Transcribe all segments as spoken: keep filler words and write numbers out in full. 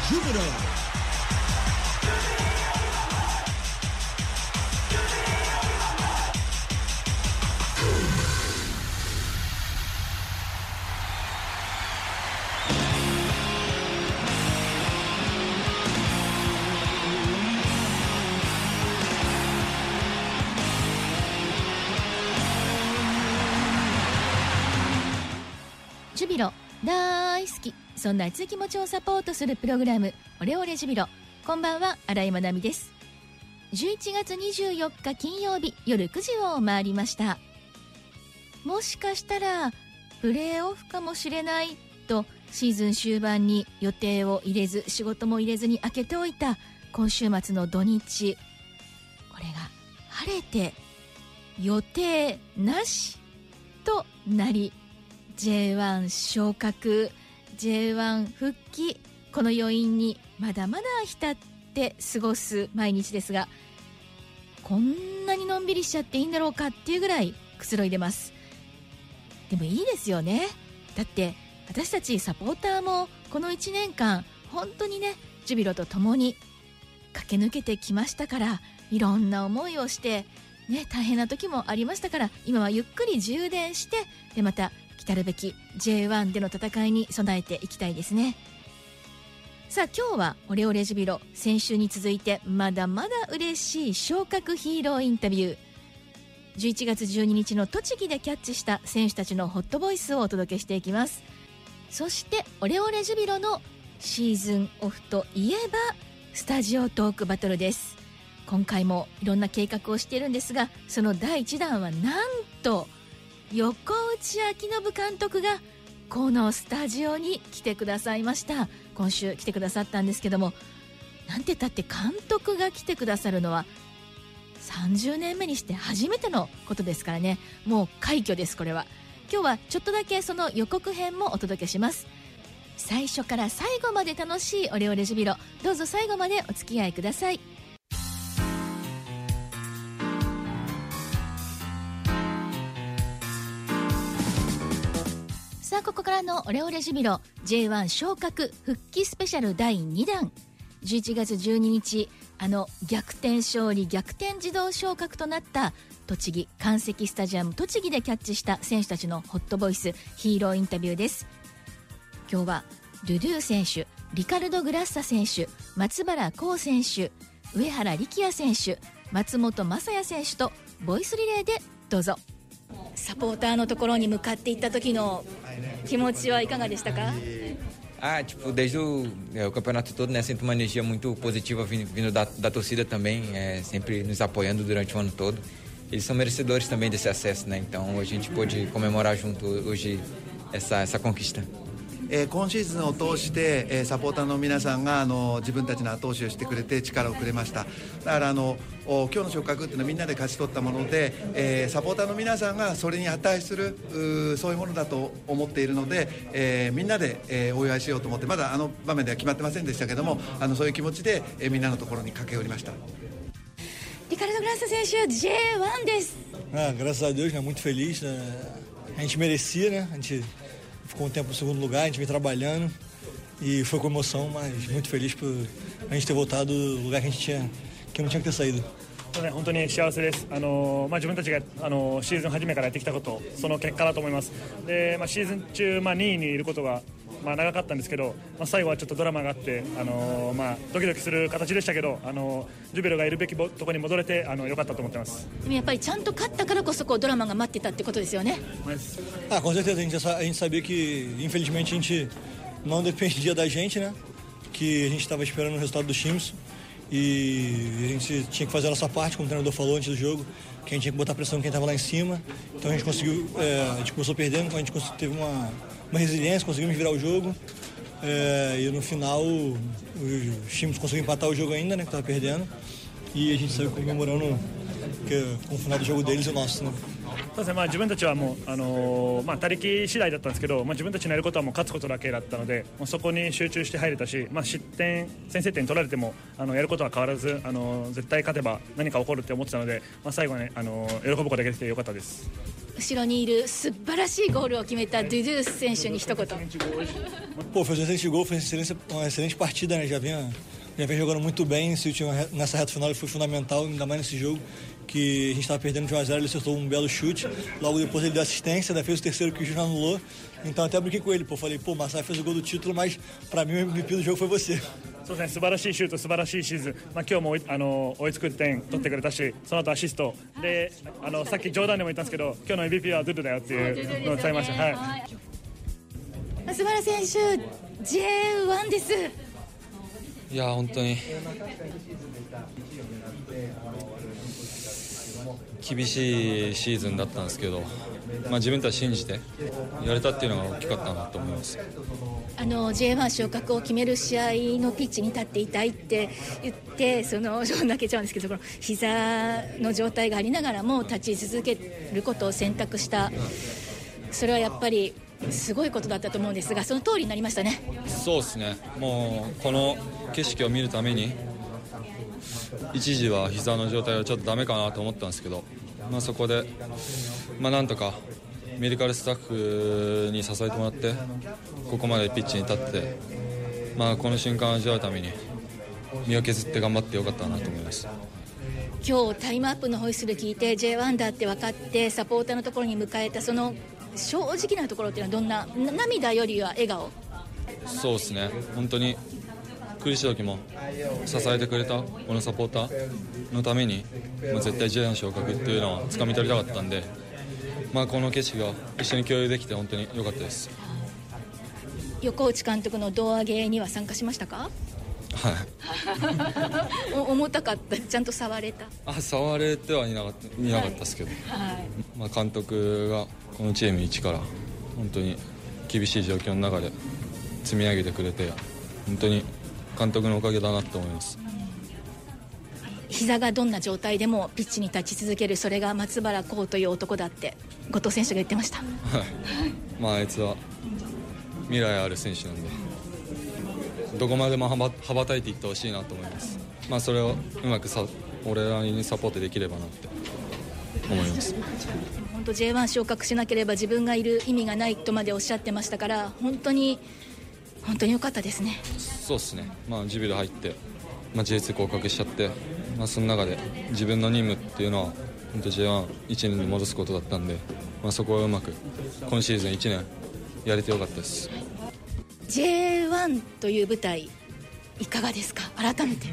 Júbilo. ジュビロ大好き、そんな熱い気持ちをサポートするプログラム、オレオレジュビロ。こんばんは、新井まなみです。じゅういちがつにじゅうよっか金曜日夜くじを回りました。もしかしたらプレーオフかもしれないとシーズン終盤に予定を入れず、仕事も入れずに空けておいた今週末の土日、これが晴れて予定なしとなり、 ジェイワン 昇格、 ジェイワン 復帰、この余韻にまだまだ浸って過ごす毎日ですが、こんなにのんびりしちゃっていいんだろうかっていうぐらいくつろいでます。でもいいですよね。だって私たちサポーターもこのいちねんかん本当にね、ジュビロと共に駆け抜けてきましたから、いろんな思いをしてね、大変な時もありましたから、今はゆっくり充電して、でまた来るべき ジェイワン での戦いに備えていきたいですね。さあ今日はオレオレジュビロ、先週に続いてまだまだ嬉しい昇格ヒーローインタビュー、じゅういちがつじゅうににちの栃木でキャッチした選手たちのホットボイスをお届けしていきます。そしてオレオレジュビロのシーズンオフといえばスタジオトークバトルです。今回もいろんな計画をしているんですが、そのだいいちだんはなんと横内昭信監督がこのスタジオに来てくださいました。今週来てくださったんですけども、なんて言ったって監督が来てくださるのはさんじゅうねんめにして初めてのことですからね、もう快挙です。これは今日はちょっとだけその予告編もお届けします。最初から最後まで楽しいオレオレジュビロ、どうぞ最後までお付き合いください。さあここからのオレオレジュビロ ジェイワン 昇格復帰スペシャルだいにだん、じゅういちがつじゅうににち、あの逆転勝利逆転自動昇格となった栃木関石スタジアム栃木でキャッチした選手たちのホットボイスヒーローインタビューです。今日はドゥドゥ選手、リカルド・グラッサ選手、松原幸選手、上原力也選手、松本雅也選手とボイスリレーでどうぞ。サポーターのところに向かっていった時の気持ちはいかがでしたか？ Ah, tipo, desde o, é, o campeonato todo, né, sinto uma energia muito positiva vindo, vindo da, da torcida também, é, sempre nos apoiando durante o ano todo. Eles são merecedores também desse acesso, né, então a gente pôde comemorar junto hoje essa, essa conquista. えー、今シーズンを通して、えー、サポーターの皆さんがあの自分たちの後押しをしてくれて力をくれました。だからあの今日の昇格っていうのはみんなで勝ち取ったもので、えー、サポーターの皆さんがそれに値するうそういうものだと思っているので、えー、みんなで、えー、お祝いしようと思って、まだあの場面では決まってませんでしたけども、あのそういう気持ちで、えー、みんなのところに駆け寄りました。 リカルド・グラッサ選手 ジェイワン です。 Ah, graças a Deus, né? Muito feliz, né? A gente merecia, né? A gente ficou um tempo no segundo lugar, a gente vem trabalhando e foi com emoção, mas muito feliz por a gente ter voltado do lugar que a gente tinha, que não tinha que ter saído. 本当に幸せです。あの、まあ、自分たちがあのシーズン初めからやってきたこと、その結果だと思います。で、まあ、シーズン中、まあ、にいにいることが、まあ、長かったんですけど、まあ、最後はちょっとドラマがあって、あのまあ、ドキドキする形でしたけど、あのジュビロがいるべきところに戻れてあの良かったと思ってます。 でもやっぱりちゃんと勝ったからこそこうドラマが待ってたってことですよね。 Ah, com certeza, a gente, a gente sabia que infelizmente a gente não dependia da gente, né? Que a gente estava esperando o resultado dos times e a gente tinha que fazer a nossa parte, como o treinador falou antes do jogo, que a gente tinha que botar pressão em quem estava lá em cima. Então a gente conseguiu, é, a gente começou perdendo, a gente teve uma, uma resiliência, conseguimos virar o jogo. É, e no final os times conseguiram empatar o jogo ainda, né, que estava perdendo, e a gente saiu comemorando que, com o final do jogo deles e o nosso, né? そうですね、まあ、自分たちはもう、あのーまあ、他力次第だったんですけど、まあ、自分たちのやることはもう勝つことだけだったので、まあ、そこに集中して入れたし、まあ、失点先制点取られてもあのやることは変わらず、あのー、絶対勝てば何か起こるって思ってたので、まあ、最後はね、あのー、喜ぶことができてよかったです。 後ろにいる素晴らしいゴールを決めたドゥドゥ選手に一言。 Pô, fez um excelente gol, fez excelente, uma excelente partida, né? Já vinha, já vinha jogando muito bem. Esse último, nessa reta final ele foi fundamental, ainda mais nesse jogo que a gente estava perdendo de um a zero. Ele acertou um belo chute. Logo depois ele deu assistência, ainda fez o terceiro que o Júnior anulou. Então até brinquei com ele, pô, falei, pô, Masai fez o gol do título, mas pra mim o M V P do jogo foi você. そうですね、素晴らしいシュート、素晴らしいシーズン、まあ、今日もあの追いつく点取ってくれたし、その後アシストで、あのさっき冗談でも言ったんですけど、今日の エムブイピー はドゥドゥだよっていうのを伝えました。はい、 松原選手 ジェイワン です。 いや本当に厳しいシーズンだったんですけど、まあ、自分たち信じてやれたっていうのが大きかったなと思います。 あの ジェイワン 昇格を決める試合のピッチに立っていたいって言って、その泣けちゃうんですけど、この膝の状態がありながらも立ち続けることを選択した、それはやっぱりすごいことだったと思うんですが、その通りになりましたね。 そうですね、もうこの景色を見るために一時は膝の状態はちょっとダメかなと思ったんですけど、まあ、そこで、まあ、なんとかメディカルスタッフに支えてもらってここまでピッチに立って、まあ、この瞬間を味わうために身を削って頑張ってよかったなと思います。 今日タイムアップのホイッスル聞いて ジェイワン だって分かってサポーターのところに迎えたその正直なところっていうのはどんな、涙よりは笑顔？ そうですね、本当に苦しい時も支えてくれたこのサポーターのために、まあ、絶対 ジェイワン 昇格っていうのは掴み取りたかったんで、まあ、この景色が一緒に共有できて本当に良かったです。 横内監督の胴上げには参加しましたか？ はい重たかった？ちゃんと触れた？ あ、触れてはいなかった、見なかったですけど、 はいはい、 まあ、監督がこのチーム一から本当に厳しい状況の中で積み上げてくれて、本当に監督のおかげだなと思います。 膝がどんな状態でもピッチに立ち続ける、それが松原幸という男だって後藤選手が言ってました。はい、 まあ、あいつは未来ある選手なんで、どこまでも羽ば、羽ばたいていってほしいなと思います。まあ、それをうまくさ俺らにサポートできればなって思います。 本当 ジェイワン 昇格しなければ自分がいる意味がないとまでおっしゃってましたから、本当に本当に良かったですね。そうですね、 まあ、ジュビロ入って、まあ、ジェイツー 降格しちゃって、まあ、その中で自分の任務っていうのは本当 ジェイワンいちねんに戻すことだったんで、まあ、そこはうまく今シーズンいちねんやれてよかったです。 ジェイワン という舞台いかがですか？改めて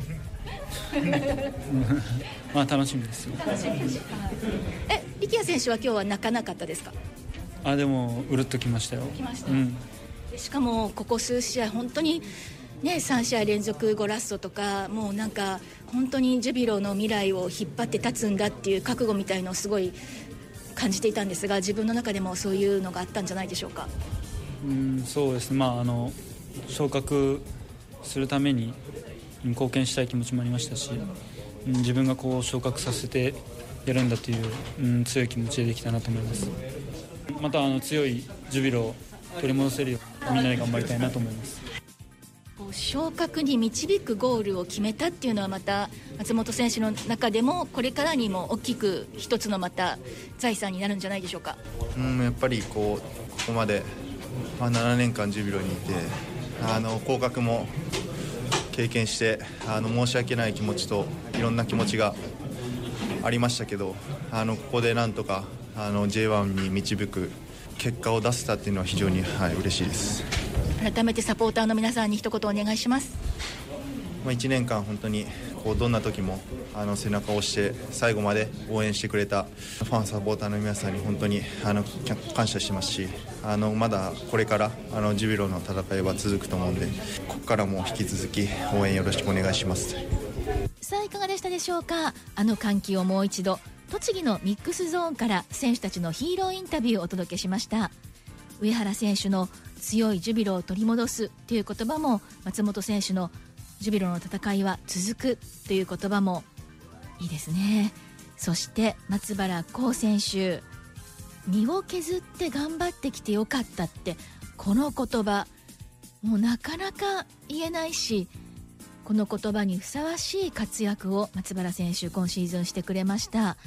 まあ楽しみですよ。 楽しみです。え、力也選手は今日は泣かなかったですか？ あ、でもうるっときましたよ。 きました、 うん、 しかもここ数試合本当にね、さん試合連続ゴラッソとか、もうなんか本当にジュビロの未来を引っ張って立つんだっていう覚悟みたいのをすごい感じていたんですが、自分の中でもそういうのがあったんじゃないでしょうか？ うん、そうですね、まあ、あの昇格するために貢献したい気持ちもありましたし、うん、自分がこう昇格させてやるんだという、うん、強い気持ちでできたなと思います。またあの強いジュビロを取り戻せるようみんなで頑張りたいなと思います。 昇格に導くゴールを決めたっていうのはまた松本選手の中でもこれからにも大きく一つのまた財産になるんじゃないでしょうか？ うん、やっぱりこうここまで、まあ、ななねんかんジュビロにいて、あの降格も経験して、あの申し訳ない気持ちといろんな気持ちがありましたけど、あのここでなんとかあの ジェイワン に導く結果を出せたっていうのは非常に、はい、嬉しいです。 改めてサポーターの皆さんに一言お願いします。 まあ、いちねんかん本当にこうどんな時もあの背中を押して最後まで応援してくれたファンサポーターの皆さんに本当にあの感謝してますし、あのまだこれからあのジュビロの戦いは続くと思うんで、ここからも引き続き応援よろしくお願いします。 さあいかがでしたでしょうか？あの歓喜をもう一度、栃木のミックスゾーンから選手たちのヒーローインタビューをお届けしました。上原選手の強いジュビロを取り戻すという言葉も、松本選手のジュビロの戦いは続くという言葉もいいですね。そして松原幸選手、身を削って頑張ってきてよかったって、この言葉もうなかなか言えないし、この言葉にふさわしい活躍を松原選手今シーズンしてくれました。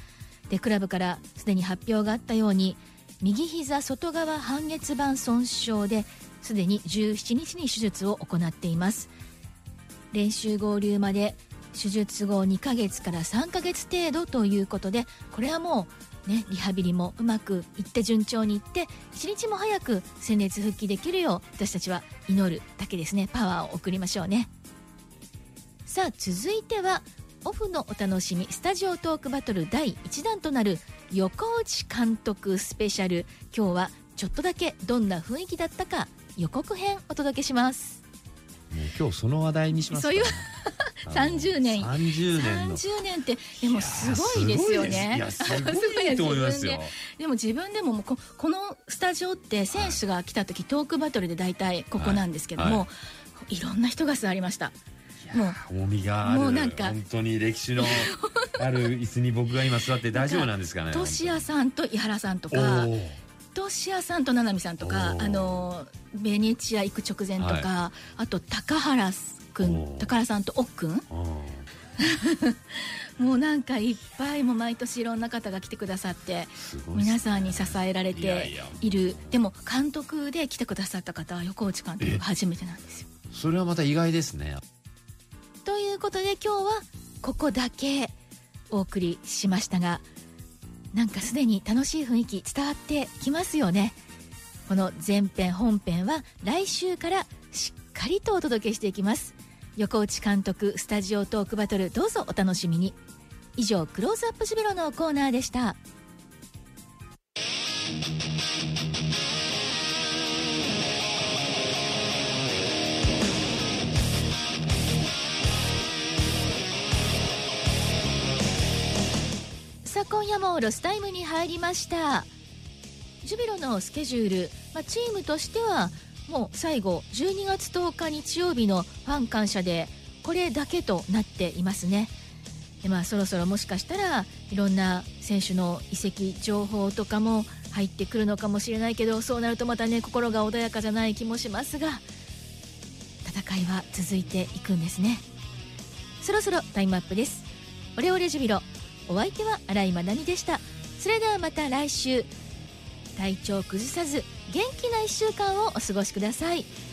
でクラブからすでに発表があったように右膝外側半月板損傷ですでにじゅうしちにちに手術を行っています。練習合流まで手術後にかげつからさんかげつ程度ということで、これはもうねリハビリもうまくいって順調にいって一日も早く戦列復帰できるよう私たちは祈るだけですね。パワーを送りましょうね。さあ続いてはオフのお楽しみスタジオトークバトルだいいちだんとなる横内監督スペシャル。今日はちょっとだけどんな雰囲気だったか予告編お届けします。 もう今日その話題にしますか、 そういうさんじゅうねんさんじゅうねんのさんじゅうねんってでもすごいですよね。 いやすごいと思いますよ。 でも自分でももう こ, このスタジオって選手が来た時、はい、トークバトルで大体ここなんですけども、はいはい、いろんな人が座りました。もう重みがあるもうなんか本当に歴史のある椅子に僕が今座って大丈夫なんですかね。 トシヤさんと井原さんとかトシヤさんと七海さんとかあのベネチア行く直前とか、はい、あと高原君高原さんと奥君もうなんかいっぱいも毎年いろんな方が来てくださって皆さんに支えられている。いやいやでも監督で来てくださった方は横内監督が初めてなんですよ。 それはまた意外ですね。 ということで今日はここだけお送りしましたが、なんかすでに楽しい雰囲気伝わってきますよね。この前編本編は来週からしっかりとお届けしていきます。横内監督スタジオトークバトルどうぞお楽しみに。以上クローズアップジュビロのコーナーでした。さあ今夜もロスタイムに入りました。ジュビロのスケジュール、まあ、チームとしてはもう最後じゅうにがつとおか日曜日のファン感謝でこれだけとなっていますね。で、まあ、そろそろもしかしたらいろんな選手の移籍情報とかも入ってくるのかもしれないけど、そうなるとまたね心が穏やかじゃない気もしますが、戦いは続いていくんですね。そろそろタイムアップです。オレオレジュビロ、お相手は新井まなみでした。それではまた来週、体調崩さず元気ないっしゅうかんをお過ごしください。